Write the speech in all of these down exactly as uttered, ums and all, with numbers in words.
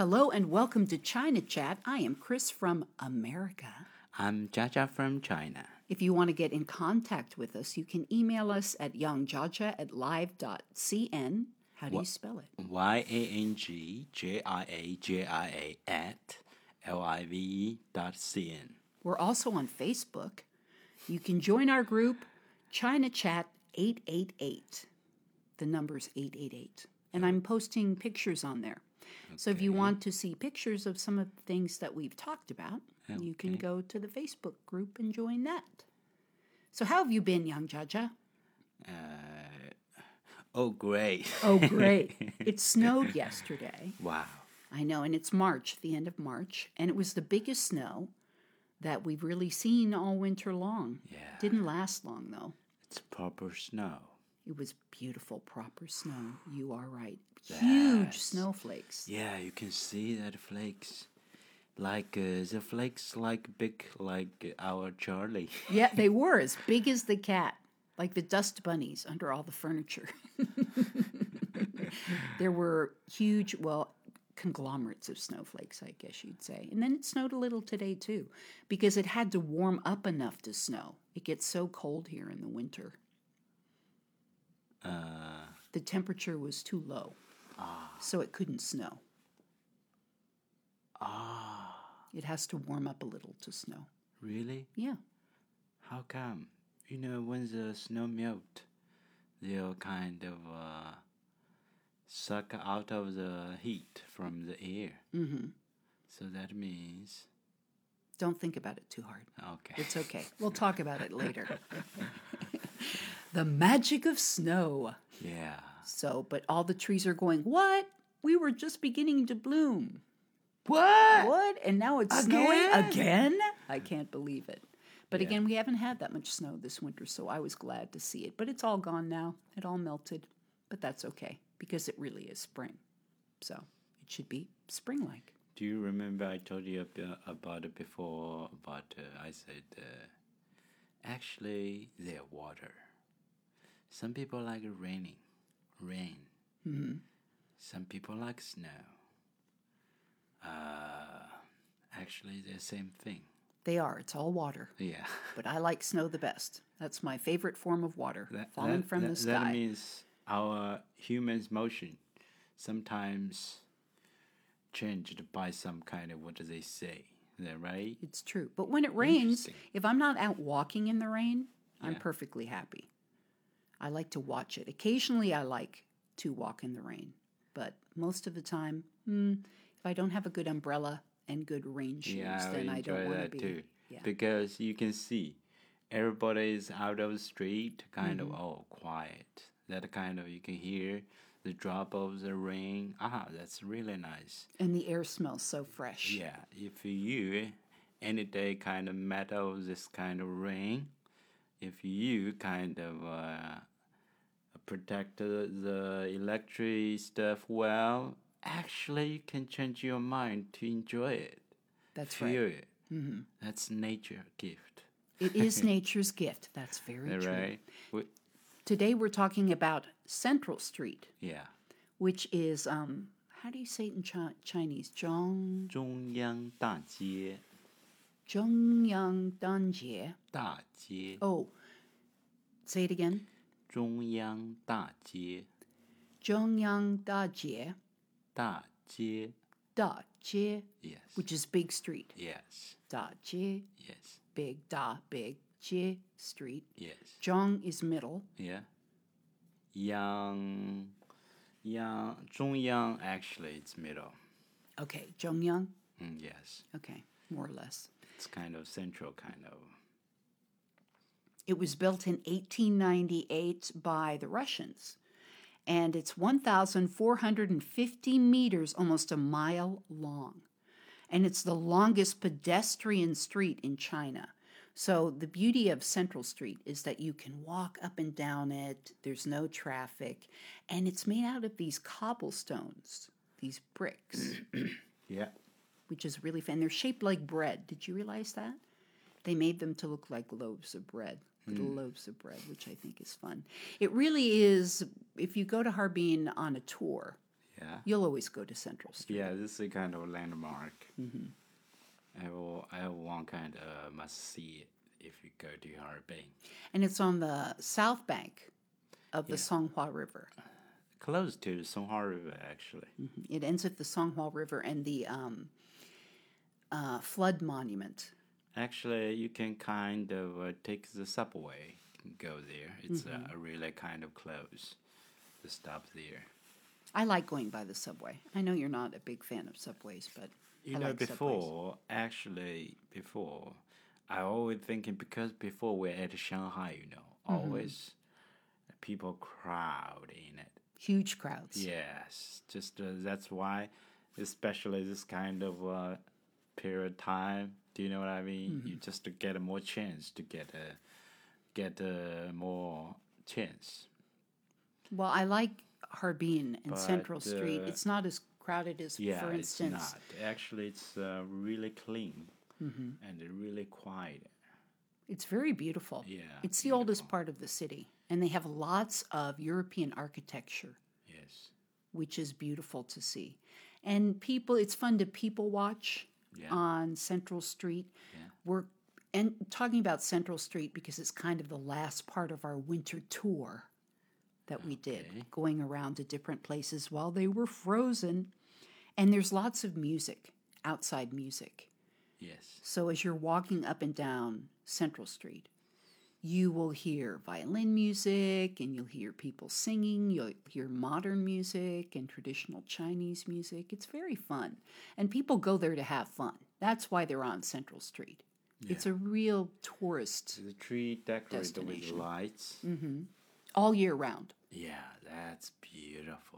Hello and welcome to China Chat. I am Chris from America. I'm Jaja from China. If you want to get in contact with us, you can email us at yangjaja at live dot c n. How do you spell it? Y A N G J I A J I A at L I V E dot C N. We're also on Facebook. You can join our group, China Chat eight eight eight. The number's eight eight eight. And I'm posting pictures on there. Okay. So if you want to see pictures of some of the things that we've talked about, okay. you can go to the Facebook group and join that. So how have you been, Yang Jaja? Uh, oh, great. Oh, great. It snowed yesterday. Wow. I know, and it's March, the end of March, and it was the biggest snow that we've really seen all winter long. Yeah. Didn't last long, though. It's proper snow. It was beautiful, proper snow. You are right. Huge yes. snowflakes. Yeah, you can see that flakes. Like, uh, the flakes like big like our Charlie. Yeah, they were as big as the cat. Like the dust bunnies under all the furniture. There were huge, well, conglomerates of snowflakes, I guess you'd say. And then it snowed a little today, too, because it had to warm up enough to snow. It gets so cold here in the winter. Uh, the temperature was too low, ah. so it couldn't snow. Ah. It has to warm up a little to snow. Really? Yeah. How come? You know, when the snow melt, they'll kind of uh, suck out of the heat from the air. Mm-hmm. So that means... Don't think about it too hard. Okay. It's okay. We'll talk about it later. The magic of snow. Yeah. So, but all the trees are going, what? We were just beginning to bloom. What? What? And now it's Again? snowing again? I can't believe it. But yeah. again, we haven't had that much snow this winter, so I was glad to see it. But it's all gone now. It all melted. But that's okay, because it really is spring. So it should be spring-like. Do you remember I told you about it before, about, uh, I said, uh, actually, they're water. Some people like raining, rain. Mm-hmm. Some people like snow. Uh, actually, they're the same thing. They are. It's all water. Yeah. But I like snow the best. That's my favorite form of water, that, falling that, from that, the sky. That means our human's motion sometimes changed by some kind of, what do they say? Is that right? It's true. But when it rains, if I'm not out walking in the rain, I'm yeah. perfectly happy. I like to watch it. Occasionally, I like to walk in the rain. But most of the time, hmm, if I don't have a good umbrella and good rain shoes, yeah, I then I don't want to that be. Too. Yeah. Because you can see everybody is out of the street, kind mm-hmm. of all quiet. That kind of, you can hear the drop of the rain. Ah, that's really nice. And the air smells so fresh. Yeah, if you any day kind of met of this kind of rain, if you kind of uh, protect the, the electric stuff well, actually you can change your mind to enjoy it. That's Feel right. Feel it. Mm-hmm. That's nature gift. It is nature's gift. That's very true. Right. We, Today we're talking about Central Street. Yeah. Which is, um, how do you say it in Chi- Chinese? Zhong... 中央大街 Zhongyang Danjie. 大街 Oh, say it again. 中央大街 Zhongyang Dajie. 大街 Dajie. Yes. Which is Big Street. Yes. Dajie. Yes. Big Da, Big Jie Street. Yes. Zhong is middle. Yeah. Yang, Yang, 中央 actually it's middle. Okay, Zhongyang. Mm, yes. Okay, more or less. It's kind of central, kind of. It was built in eighteen ninety-eight by the Russians. And it's one thousand four hundred fifty meters, almost a mile long. And it's the longest pedestrian street in China. So the beauty of Central Street is that you can walk up and down it. There's no traffic. And it's made out of these cobblestones, these bricks. Yeah. Which is really fun. They're shaped like bread. Did you realize that? They made them to look like loaves of bread. Little mm. loaves of bread, which I think is fun. It really is, if you go to Harbin on a tour, Yeah. You'll always go to Central Street. Yeah, this is a kind of landmark. Mm-hmm. Everyone, everyone kind of must see it if you go to Harbin. And it's on the south bank of the Yeah. Songhua River. Close to the Songhua River, actually. Mm-hmm. It ends at the Songhua River and the um, uh, flood monument. Actually, you can kind of uh, take the subway and go there. It's mm-hmm. uh, really kind of close to stop there. I like going by the subway. I know you're not a big fan of subways, but you I know, like before, subways. actually, before, I always thinking because before we're at Shanghai, you know, Mm-hmm. always people crowd in it. Huge crowds. Yes, just uh, that's why, especially this kind of uh, period of time. Do you know what I mean? Mm-hmm. You just to get a more chance to get a get a more chance. Well, I like Harbin and But, Central Street. uh, It's not as crowded as, Yeah, for instance. it's not. Actually, it's uh, really clean Mm-hmm. and really quiet. It's very beautiful. Yeah, It's the beautiful. oldest part of the city, and they have lots of European architecture, Yes. which is beautiful to see. And people, it's fun to people watch Yeah. on Central Street. Yeah. We're and talking about Central Street because it's kind of the last part of our winter tour that we did, Okay. going around to different places while they were frozen. And there's lots of music, outside music. Yes. So as you're walking up and down Central Street, you will hear violin music and you'll hear people singing. You'll hear modern music and traditional Chinese music. It's very fun. And people go there to have fun. That's why they're on Central Street. Yeah. It's a real tourist The tree decorated with destination. lights. Mm-hmm. all year round. Yeah, that's beautiful.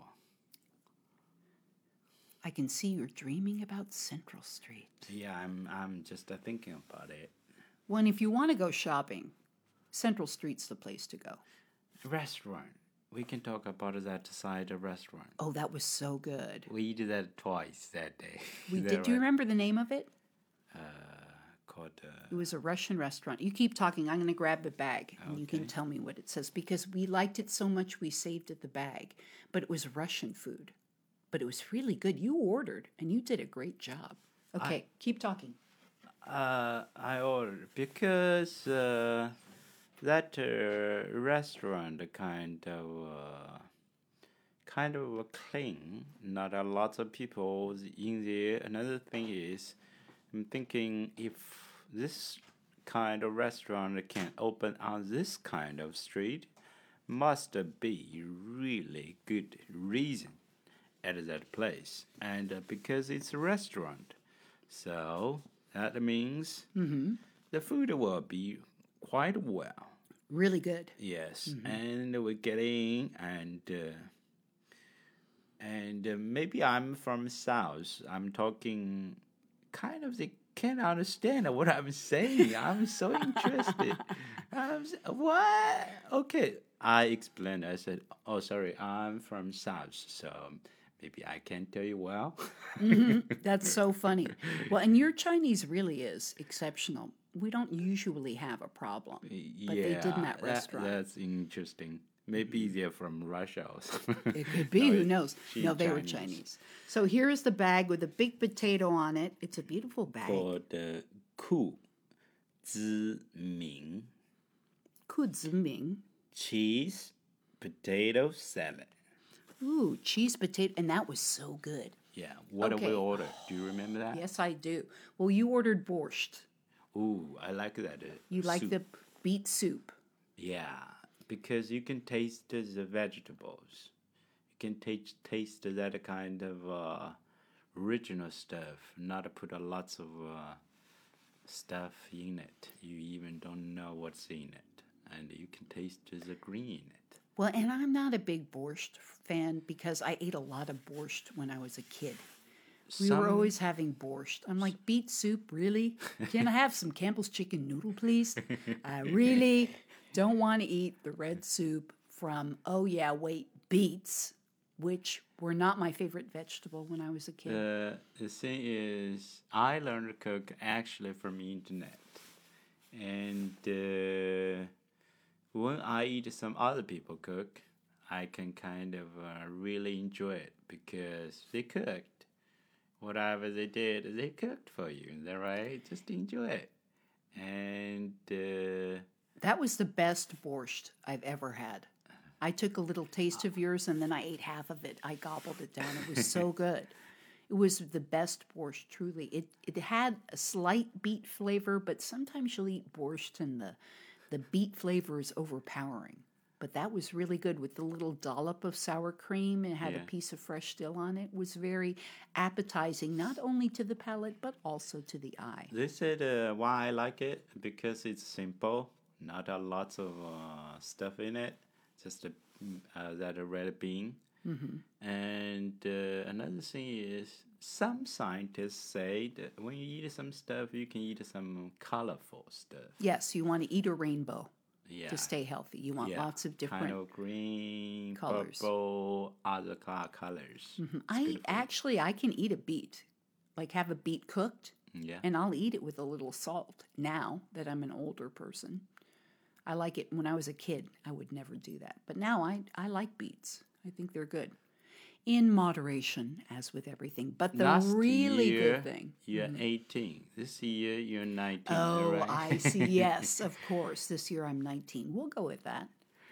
I can see you're dreaming about Central Street. Yeah, I'm I'm just uh, thinking about it. Well, and if you want to go shopping, Central Street's the place to go. Restaurant. We can talk about that side of restaurant. Oh, that was so good. We did that twice that day. We That did. Do you was, remember the name of it? Uh, called. Uh, It was a Russian restaurant. You keep talking. I'm going to grab the bag, and you can Okay. tell me what it says because we liked it so much we saved it the bag. But it was Russian food, but it was really good. You ordered, and you did a great job. Okay, keep talking. Uh, I ordered because uh, that uh, restaurant kind of uh, kind of clean. Not a lot of people in there. Another thing is, I'm thinking if this kind of restaurant can open on this kind of street, must be really good reason at that place, and uh, because it's a restaurant, so. That means the food will be quite well. Really good. Yes, and we're getting and uh, and uh, maybe I'm from South. I'm talking kind of they can't understand what I'm saying. I'm so interested. I'm s- what? Okay, I explained. I said, "Oh, sorry, I'm from South, so." Maybe I can't tell you well. That's so funny. Well, and your Chinese really is exceptional. We don't usually have a problem, but yeah, they did in that restaurant. that's interesting. Maybe they're from Russia or something. It could be. No, Who it- knows? she's No, they were Chinese. Chinese. So here is the bag with a big potato on it. It's a beautiful bag. Called the Ku Zi Ming Ku Ziming. cheese potato salad. Ooh, cheese potato, and that was so good. Yeah, what did we Okay. order? Do you remember that? Yes, I do. Well, you ordered borscht. Ooh, I like that. Uh, You like soup. the beet soup. Yeah, because you can taste the vegetables. You can taste taste that kind of uh, original stuff. Not put a lots of uh, stuff in it. You even don't know what's in it, and you can taste the green in it. Well, and I'm not a big borscht fan because I ate a lot of borscht when I was a kid. We were Some- always having borscht. I'm like, beet soup, really? Can I have some Campbell's chicken noodle, please? I really don't want to eat the red soup from, oh yeah, wait, beets, which were not my favorite vegetable when I was a kid. The the thing is, I learned to cook actually from internet, and uh, when I eat some other people cook, I can kind of uh, really enjoy it because they cooked. Whatever they did, they cooked for you. Is that right? Just enjoy it. And uh, That was the best borscht I've ever had. I took a little taste of yours and then I ate half of it. I gobbled it down. It was so good. It was the best borscht, truly. It it had a slight beet flavor, but sometimes you'll eat borscht and the, the beet flavor is overpowering. But that was really good with the little dollop of sour cream. It had Yeah. a piece of fresh dill on it. It was very appetizing, not only to the palate, but also to the eye. they said uh, why I like it because it's simple, not a lot of uh, stuff in it, just a, uh, that a red bean. And uh, another thing is, some scientists say that when you eat some stuff, you can eat some colorful stuff. Yes, you want to eat a rainbow Yeah, to stay healthy. You want yeah, lots of different. kind of green, colors. purple, other col- colors. It's I beautiful. actually I can eat a beet, like have a beet cooked, Yeah, and I'll eat it with a little salt. Now that I'm an older person, I like it. When I was a kid, I would never do that, but now I I like beets. I think they're good, in moderation, as with everything. But the last really year good thing. you're eighteen. This year you're nineteen. Oh, right? I see. Yes, of course. This year I'm nineteen. We'll go with that.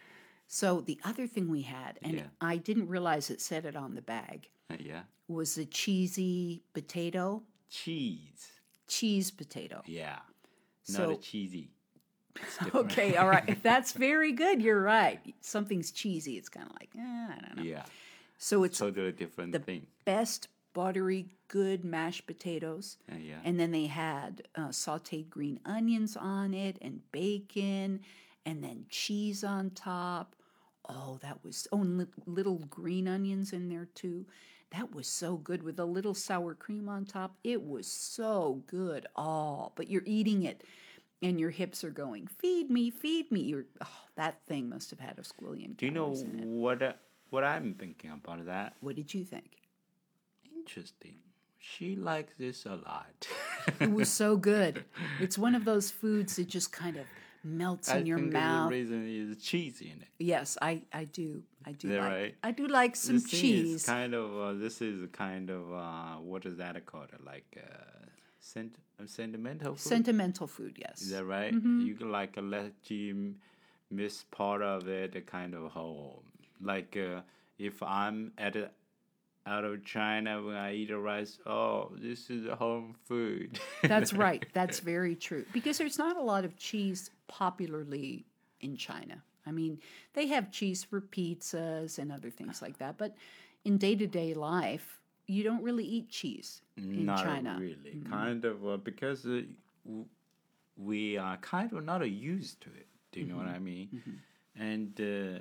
So the other thing we had, and Yeah. I didn't realize it said it on the bag, Yeah, was a cheesy potato, cheese. cheese potato. Yeah, not So- a cheesy. It's different. Okay, all right. That's very good. You're right. Something's cheesy. It's kind of like, eh, I don't know. Yeah, So it's totally different thing. best buttery, good mashed potatoes. Uh, yeah, And then they had uh, sauteed green onions on it and bacon and then cheese on top. Oh, that was, oh, and li- little green onions in there too. That was so good with a little sour cream on top. It was so good. Oh, but you're eating it and your hips are going, feed me, feed me. You're, oh, that thing must have had a squillion do you know calories in it. what uh, what I'm thinking about that? What did you think? Interesting. She likes this a lot. It was so good. It's one of those foods that just kind of melts I in your think mouth. the reason is cheese in it. Yes, I, I do. I do Yeah, like. right. I do like some This thing is cheese. kind of uh, this is kind of uh, what is that called? Like uh, sent uh, sentimental food. Sentimental food, yes. Is that right? Mm-hmm. You can like uh, let you m- miss part of it, a kind of home. Like uh, if I'm at a, out of China when I eat a rice, oh, this is a home food. That's right. That's very true. Because there's not a lot of cheese popularly in China. I mean, they have cheese for pizzas and other things like that, but in day-to-day life, you don't really eat cheese in Not China. really. Kind of uh, because uh, w- we are kind of not uh, used to it. Do you know what I mean? And uh,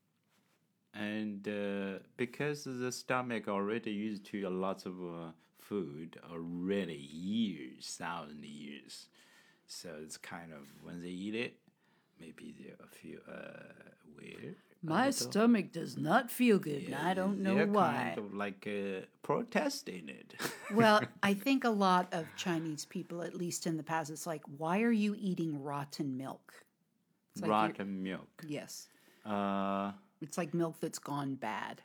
and uh, because the stomach already used to a lot of uh, food already years, thousand years, so it's kind of when they eat it, maybe they feel uh, weird. a My little. stomach does not feel good, and I don't know They're why. kind of like uh, protesting it. Well, I think a lot of Chinese people, at least in the past, it's like, why are you eating rotten milk? It's like you're- Rotten milk. Yes. Uh, It's like milk that's gone bad.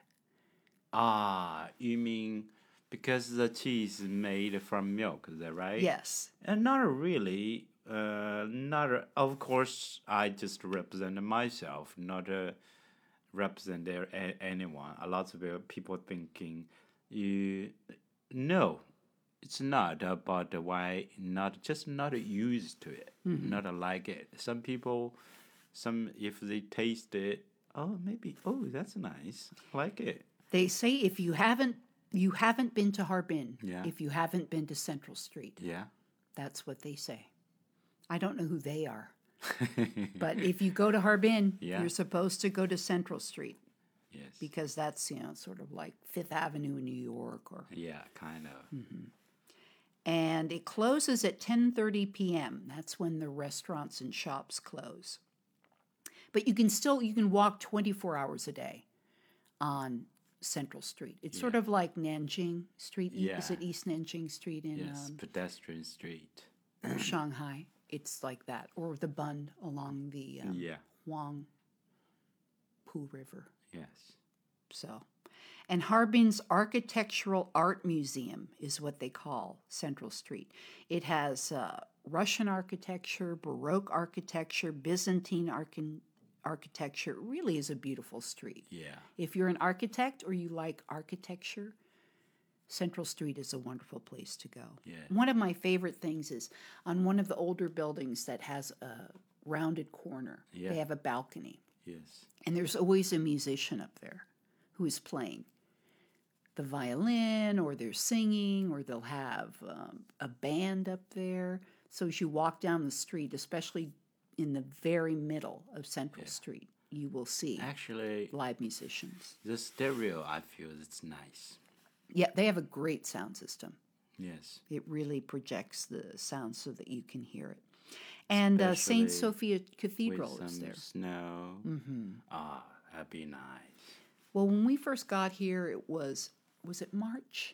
ah, you mean because the cheese is made from milk, is that right? Yes. And not really. Uh, not a- of course. I just represent myself, not uh, represent there a- anyone. A lot of uh, people thinking, you no, it's not about why not just not used to it, not like it. Some people, some if they taste it, oh maybe oh that's nice, I like it. They say if you haven't you haven't been to Harbin, Yeah. if you haven't been to Central Street, Yeah. that's what they say. I don't know who they are. But if you go to Harbin, Yeah. you're supposed to go to Central Street Yes. because that's, you know, sort of like Fifth Avenue in New York or Yeah, kind of. and it closes at ten thirty p.m. That's when the restaurants and shops close. But you can still you can walk twenty-four hours a day on Central Street. It's sort of like Nanjing Street. E- Is Yeah. it East Nanjing Street in Yes, um, pedestrian street. Shanghai? It's like that, or the Bund along the um, Yeah. Huang Pu River. Yes. So, and Harbin's Architectural Art Museum is what they call Central Street. It has uh, Russian architecture, Baroque architecture, Byzantine arch- architecture. It really is a beautiful street. Yeah. If you're an architect or you like architecture, Central Street is a wonderful place to go. Yeah. One of my favorite things is on one of the older buildings that has a rounded corner, Yeah. they have a balcony. Yes. And there's always a musician up there who is playing the violin, or they're singing, or they'll have um, a band up there. So as you walk down the street, especially in the very middle of Central Street, you will see Actually, live musicians. the stereo, I feel it's nice. Yeah, they have a great sound system. Yes. It really projects the sound so that you can hear it. And uh, Saint Especially Sophia Cathedral With is some there. snow. Mm-hmm. Ah, that'd be nice. Well, when we first got here, it was, was it March?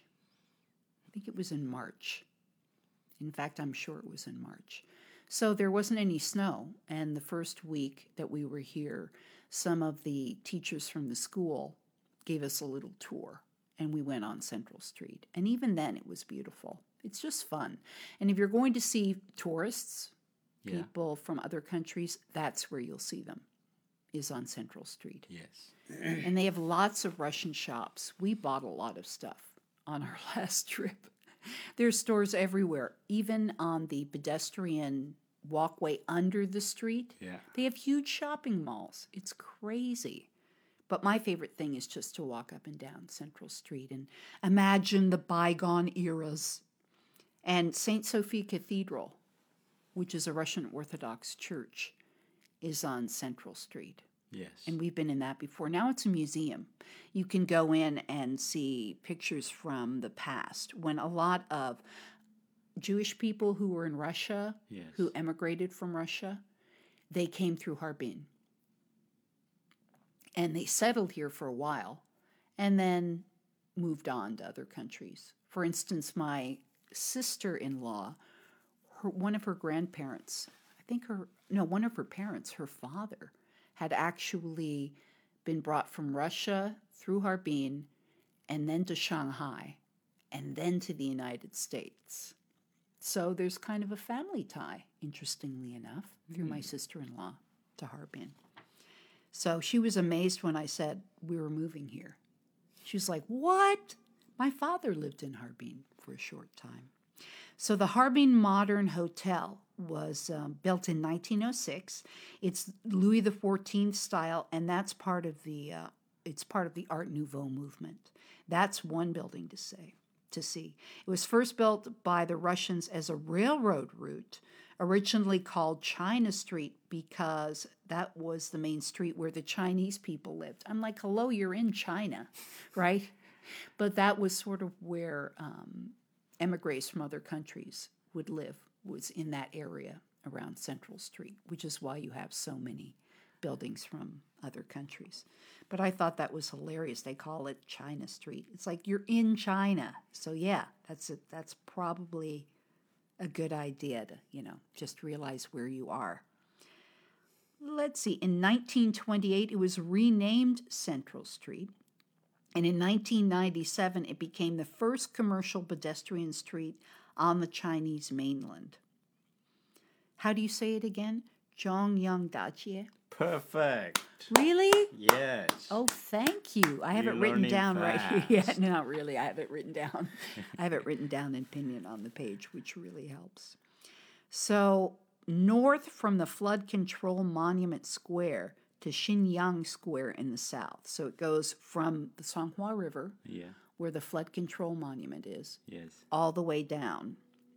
I think it was in March. In fact, I'm sure it was in March. So there wasn't any snow. And the first week that we were here, some of the teachers from the school gave us a little tour. And we went on Central Street. And even then, it was beautiful. It's just fun. And if you're going to see tourists, Yeah. people from other countries, that's where you'll see them, is on Central Street. Yes. And they have lots of Russian shops. We bought a lot of stuff on our last trip. There's stores everywhere, even on the pedestrian walkway under the street. Yeah. They have huge shopping malls. It's crazy. But my favorite thing is just to walk up and down Central Street and imagine the bygone eras. And Saint Sophia Cathedral, which is a Russian Orthodox church, is on Central Street. Yes. And we've been in that before. Now it's a museum. You can go in and see pictures from the past when a lot of Jewish people who were in Russia, Yes. who emigrated from Russia, they came through Harbin. And they settled here for a while and then moved on to other countries. For instance, my sister-in-law, her, one of her grandparents, I think her, no, one of her parents, her father, had actually been brought from Russia through Harbin and then to Shanghai and then to the United States. So there's kind of a family tie, interestingly enough, through my sister-in-law to Harbin. So she was amazed when I said we were moving here. She was like, what? My father lived in Harbin for a short time. So the Harbin Modern Hotel was um, built in nineteen oh six. It's Louis the fourteenth style, and that's part of the uh, it's part of the Art Nouveau movement. That's one building to say to see. It was first built by the Russians as a railroad route, originally called China Street because that was the main street where the Chinese people lived. I'm like, hello, you're in China, right? But that was sort of where um, emigres from other countries would live, was in that area around Central Street, which is why you have so many buildings from other countries. But I thought that was hilarious. They call it China Street. It's like you're in China. So yeah, that's a, that's probably a good idea to, you know, just realize where you are. Let's see. In nineteen twenty-eight, it was renamed Central Street. And in nineteen ninety-seven, it became the first commercial pedestrian street on the Chinese mainland. How do you say it again? Zhongyangdajie. Perfect. Really? Yes. Oh, thank you. I have You're it written learning down right here. Yeah, fast. no, not really. I have it written down. I have it written down in Pinyin on the page, which really helps. So, north from the Flood Control Monument Square to Xinyang Square in the south. So it goes from the Songhua River, Yeah. where the Flood Control Monument is, Yes. all the way down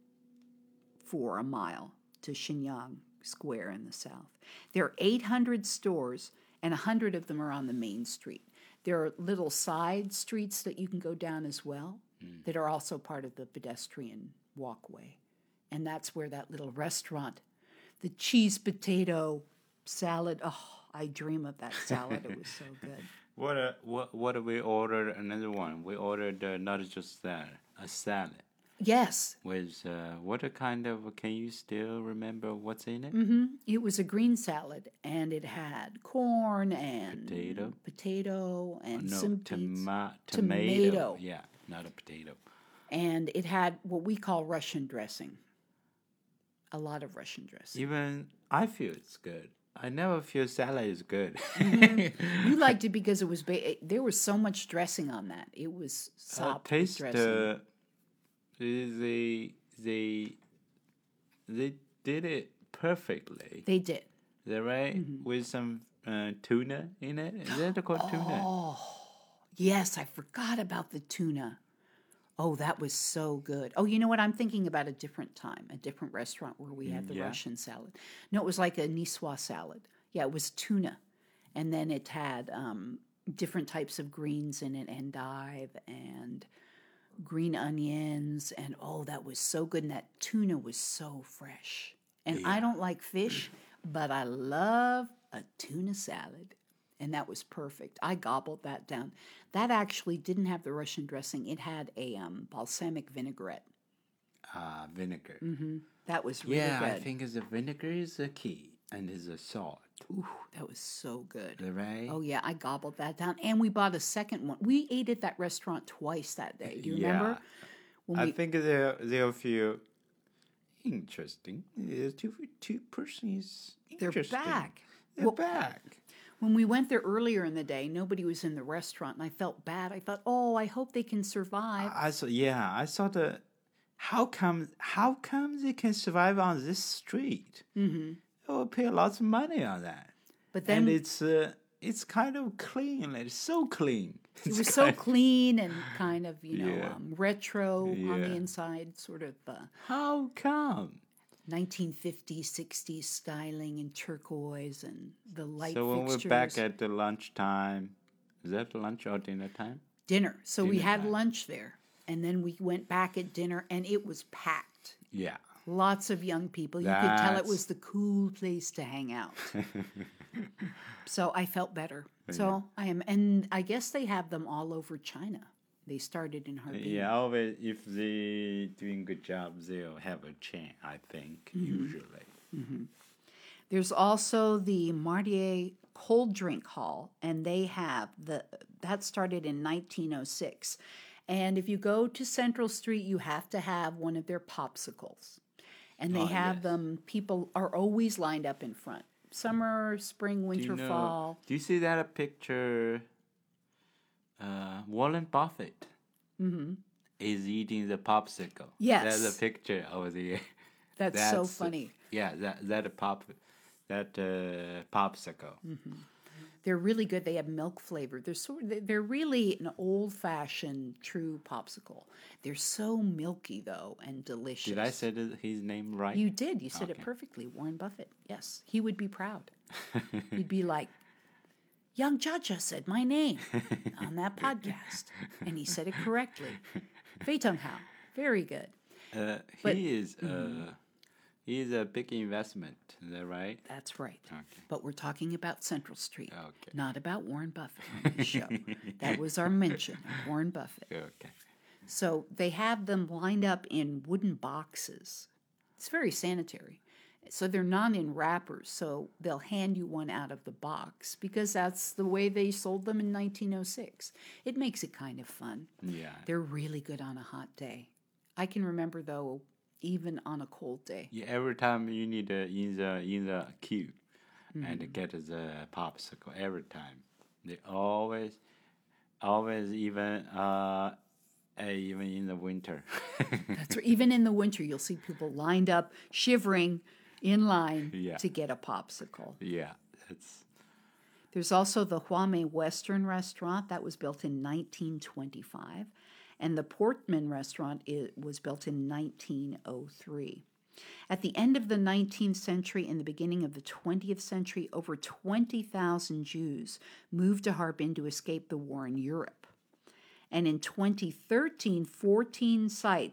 for a mile to Xinyang Square in the south. There are eight hundred stores, and one hundred of them are on the main street. There are little side streets that you can go down as well mm. that are also part of the pedestrian walkway. And that's where that little restaurant, the cheese potato salad, oh, I dream of that salad. It was so good. What uh, what what did we order? Another one. We ordered uh, not just that, a salad. Yes. With uh, what a kind of, can you still remember what's in it? hmm It was a green salad, and it had corn and Potato? potato and No, some beets. toma- Tomato. tomato. Yeah, not a potato. And it had what we call Russian dressing. A lot of Russian dressing. Even I feel it's good. I never feel salad is good. You liked it because it was ba- there was so much dressing on that. It was uh, sopped with taste dressing. uh, they they they did it perfectly. They did. Is that right? Mm-hmm. With some uh, tuna in it. Is that called tuna? Oh, yes, I forgot about the tuna. Oh, that was so good. Oh, you know what? I'm thinking about a different time, a different restaurant where we had the yeah. Russian salad. No, it was like a Niçoise salad. Yeah, it was tuna. And then it had um, different types of greens in it, endive and green onions. And oh, that was so good. And that tuna was so fresh. And I don't like fish, but I love a tuna salad. And that was perfect. I gobbled that down. That actually didn't have the Russian dressing. It had a um, balsamic vinaigrette. Uh, vinegar. Mm-hmm. That was really Yeah, good. I think the vinegar is the key, and is the salt. Ooh, that was so good. Is that right? Oh, yeah, I gobbled that down. And we bought a second one. We ate at that restaurant twice that day. Do you Yeah. remember? When I we, think they'll they'll feel interesting. Uh, two two persons. they're Interesting. back. They're Well, back. When we went there earlier in the day, nobody was in the restaurant, and I felt bad. I thought, oh, I hope they can survive. I saw. Yeah, I saw the. How come? How come they can survive on this street? Mm-hmm. They will pay lots of money on that. But then And it's uh, it's kind of clean. It's so clean. it was so clean and kind of, you know, Yeah. um, retro on the Yeah. inside, sort of uh, How come? nineteen fifties, sixties styling in turquoise and the light So when fixtures. we're back at the lunchtime, is that lunch or dinner time? dinner. So we Dinner had time. lunch there, and then we went back at dinner, and it was packed. Yeah. Lots of young people. You could tell it That's- was the cool place to hang out. So I felt better. So I am, and I guess they have them all over China. They started in Harbin. Yeah, always if they doing good job, they'll have a chain. I think Mm-hmm. usually. There's also the Mardier Cold Drink Hall, and they have the that started in nineteen oh six. And if you go to Central Street, you have to have one of their popsicles. And they Oh, have yes. them, people are always lined up in front. Summer, spring, Do winter, you know? fall. Do you see that picture? Uh, Warren Buffett is eating the popsicle. Yes. That's a picture of the. That's, so That's- funny. Yeah, that that a pop, that uh, popsicle. They're really good. They have milk flavor. They're sort of, they're really an old fashioned true popsicle. They're so milky though and delicious. Did I say the- his name right? You did. You said it Okay. perfectly. Warren Buffett. Yes. He would be proud. He'd be like, Young Jaja said my name on that podcast. And he said it correctly. Fei Tong Hao. Very good. Uh, But- he is uh, he is a big investment. Is that right? That's right. Okay. But we're talking about Central Street, Okay. not about Warren Buffett on this show. That was our mention of Warren Buffett. Okay. So they have them lined up in wooden boxes. It's very sanitary. So they're not in wrappers. So they'll hand you one out of the box because that's the way they sold them in nineteen oh six. It makes it kind of fun. Yeah. They're really good on a hot day. I can remember, though, even on a cold day. Yeah. Every time you need uh, in the in the queue Mm-hmm. and get the popsicle. Every time they always always even uh uh, even in the winter. That's right. Even in the winter, you'll see people lined up, shivering in line Yeah. to get a popsicle. Yeah. That's There's also the Huame Western Restaurant that was built in nineteen twenty-five, and the Portman Restaurant it was built in nineteen oh three. At the end of the nineteenth century and the beginning of the twentieth century, over twenty thousand Jews moved to Harbin to escape the war in Europe. And in twenty thirteen, fourteen sites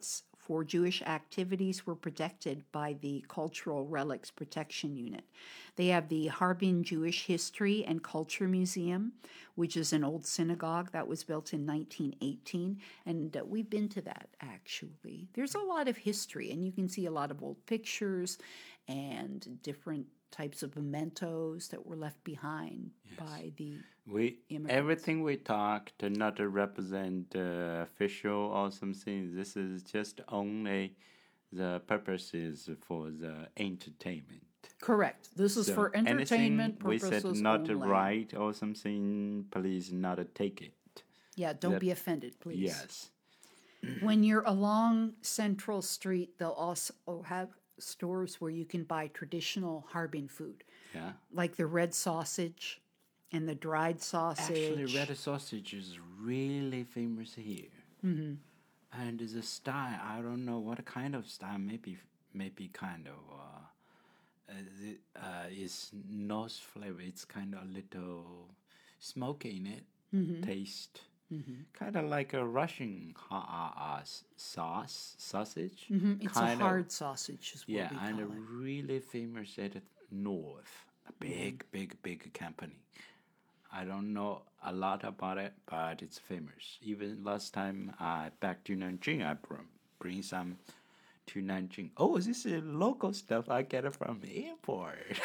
for Jewish activities were protected by the Cultural Relics Protection Unit. They have the Harbin Jewish History and Culture Museum, which is an old synagogue that was built in nineteen eighteen, and uh, we've been to that actually. There's a lot of history, and you can see a lot of old pictures and different types of mementos that were left behind yes. by the we immigrants. Everything we talked to not to represent uh, official or something. This is just only the purposes for the entertainment. Correct. This is so for entertainment purposes we said not only. to write or something. Please not to take it. Yeah, don't that, be offended, please. Yes. When you're along Central Street, they'll also have stores where you can buy traditional Harbin food. Yeah. Like the red sausage and the dried sausage. Actually, red sausage is really famous here. Mm-hmm. And the style, I don't know what kind of style, maybe maybe kind of, uh, uh, uh is nose flavor. It's kind of a little smoky in it, mm-hmm. taste. Mm-hmm. Kind of like a Russian uh, uh, sauce, sausage. Mm-hmm. It's kind a hard of, sausage is what yeah, we call and it. really famous at the north. A big, mm-hmm. big, big company. I don't know a lot about it, but it's famous. Even last time I back to Nanjing, I bring, bring some to Nanjing. Oh, this is local stuff. I get it from the airport.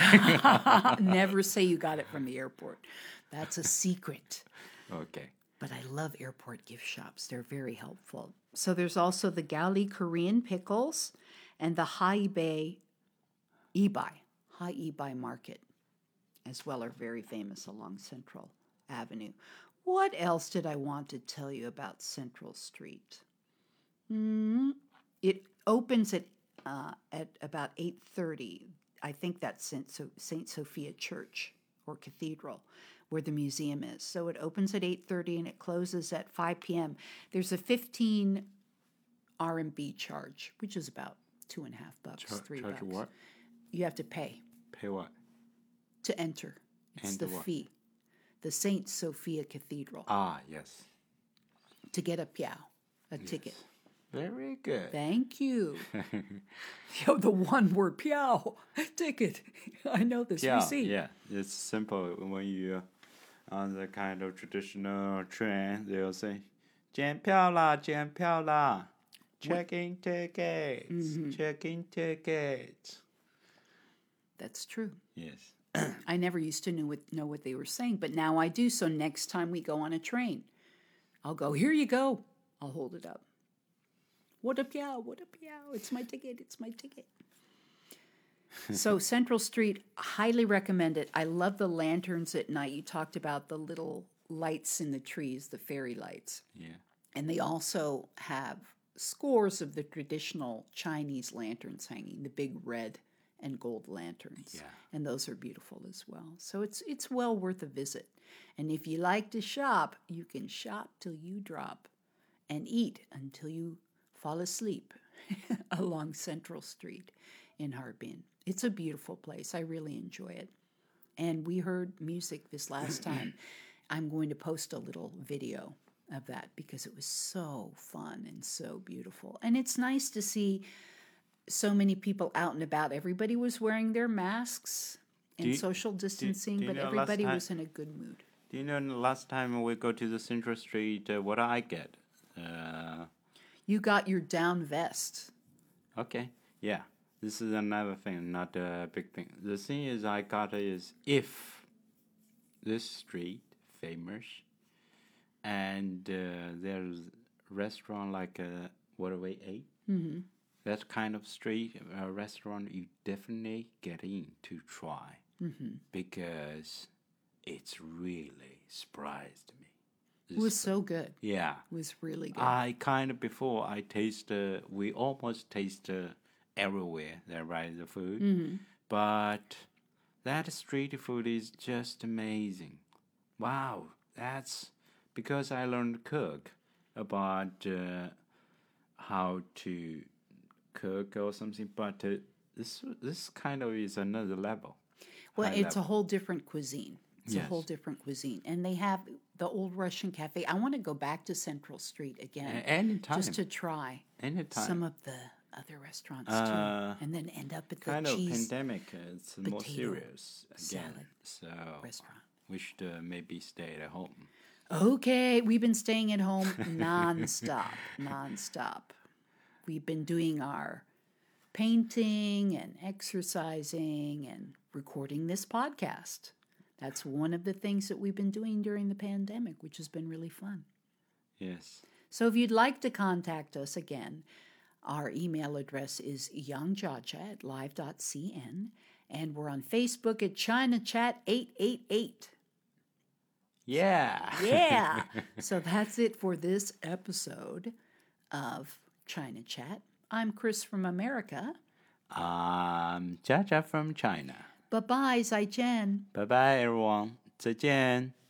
Never say you got it from the airport. That's a secret. Okay. But I love airport gift shops. They're very helpful. So there's also the Gali Korean pickles and the Haibei Ibai, Hai Ibai Market as well are very famous along Central Avenue. What else did I want to tell you about Central Street? Mm-hmm. It opens at uh, at about eight thirty. I think that's Saint So- Saint Sophia Church or Cathedral, where the museum is. So it opens at eight thirty and it closes at five p.m. There's a fifteen R M B charge, which is about two and a half bucks, Char- three charge bucks. What? You have to pay. Pay what? To enter. It's Enter the what? fee. The Saint Sophia Cathedral. Ah, yes. To get a piao, a yes. ticket. Very good. Thank you. Yo, the one word piao, ticket. I know this. Yeah, we see. yeah. It's simple. When you're on the kind of traditional train, they'll say, 检票啦,检票啦. Check-in tickets. Mm-hmm. Check-in tickets. That's true. Yes. I never used to know what, know what they were saying, but now I do. So next time we go on a train, I'll go, here you go. I'll hold it up. What a piao, what a piao. It's my ticket, it's my ticket. So Central Street, highly recommend it. I love the lanterns at night. You talked about the little lights in the trees, the fairy lights. Yeah. And they also have scores of the traditional Chinese lanterns hanging, the big red and gold lanterns. Yeah. And those are beautiful as well. So it's it's well worth a visit. And if you like to shop, you can shop till you drop and eat until you fall asleep along Central Street in Harbin. It's a beautiful place. I really enjoy it. And we heard music this last time. I'm going to post a little video of that because it was so fun and so beautiful. And it's nice to see so many people out and about. Everybody was wearing their masks and you, social distancing, do, do but you know everybody time, was in a good mood. Do you know the last time we go to the Central Street, uh, what I get? Uh, you got your down vest. Okay, yeah. This is another thing, not a big thing. The thing is I got is if this street famous and uh, there's restaurant like uh, what we ate, Mm-hmm. that kind of street uh, restaurant you definitely get in to try Mm-hmm. because it's really surprised me. It was so good. Yeah. It was really good. I kind of, before I taste, uh, we almost taste uh, everywhere that right the food. Mm-hmm. But that street food is just amazing. Wow. That's because I learned to cook about uh, how to cook or something. But uh, this this kind of is another level. Well, High it's level. a whole different cuisine. It's a Yes. whole different cuisine. And they have the old Russian cafe. I want to go back to Central Street again. A- anytime. Just to try anytime. some of the other restaurants Uh, too. And then end up at the kind of cheese pandemic, uh, it's more potato serious again. salad So restaurant. we should uh, maybe stay at home. Okay, we've been staying at home nonstop, nonstop. We've been doing our painting and exercising and recording this podcast. That's one of the things that we've been doing during the pandemic, which has been really fun. Yes. So if you'd like to contact us again, our email address is youngjaja at live dot c n, and we're on Facebook at China Chat eight eight eight. Yeah. Yeah. So that's it for this episode of China Chat. I'm Chris from America. um, Jaja from China. Bye bye, Zai Jen. Bye bye, everyone. 再见.